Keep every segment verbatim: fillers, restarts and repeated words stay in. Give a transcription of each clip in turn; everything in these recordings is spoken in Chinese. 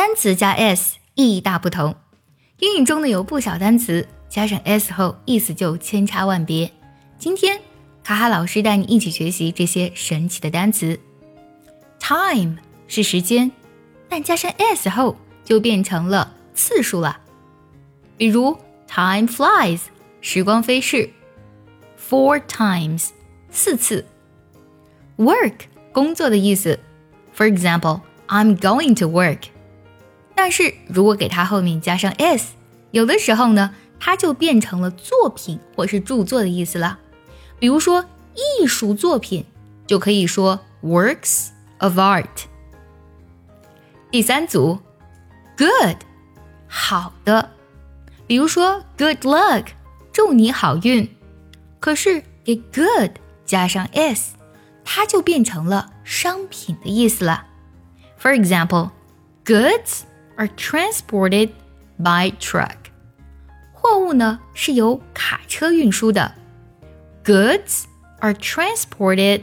单词加 s 意义大不同，英语中呢有不少单词加上 s 后意思就千差万别。今天卡卡老师带你一起学习这些神奇的单词。 Time 是时间，但加上 s 后就变成了次数了。比如 Time flies 时光飞逝， Four times 四次。 Work 工作的意思， For example I'm going to work。 但是如果给它后面加上 s， 有的时候呢它就变成了作品或是著作的意思了。比如说艺术作品就可以说 works of art。 第三组 Good 好的，比如说 Good luck 祝你好运，可是给 good 加上 s， 它就变成了商品的意思了。 For example Goods are transported by truck。 货物呢是由卡车运输的， Goods are transported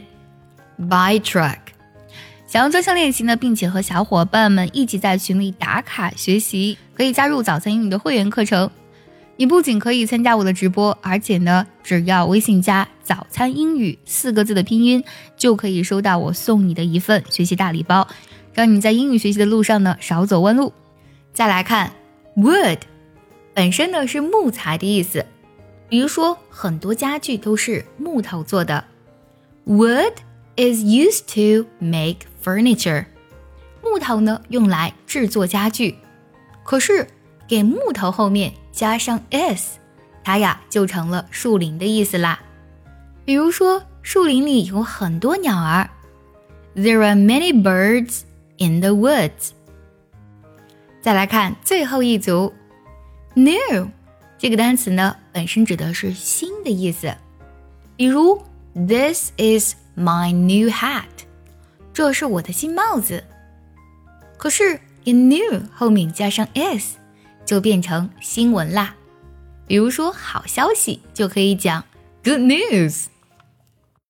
by truck。 想要专项练习呢，并且和小伙伴们一起在群里打卡学习，可以加入早餐英语的会员课程。你不仅可以参加我的直播，而且呢只要微信加早餐英语四个字的拼音，就可以收到我送你的一份学习大礼包，让你在英语学习的路上呢少走弯路。再来看 wood 本身呢是木材的意思，比如说很多家具都是木头做的， Wood is used to make furniture。 木头呢用来制作家具，可是给木头后面加上 s， 它呀就成了树林的意思啦。比如说树林里有很多鸟儿， There are many birds in the woods。 再来看最后一组 New 这个单词呢本身指的是新的意思，比如 This is my new hat， 这是我的新帽子，可是给 new 后面加上 s 就变成新闻啦。比如说好消息就可以讲 Good news。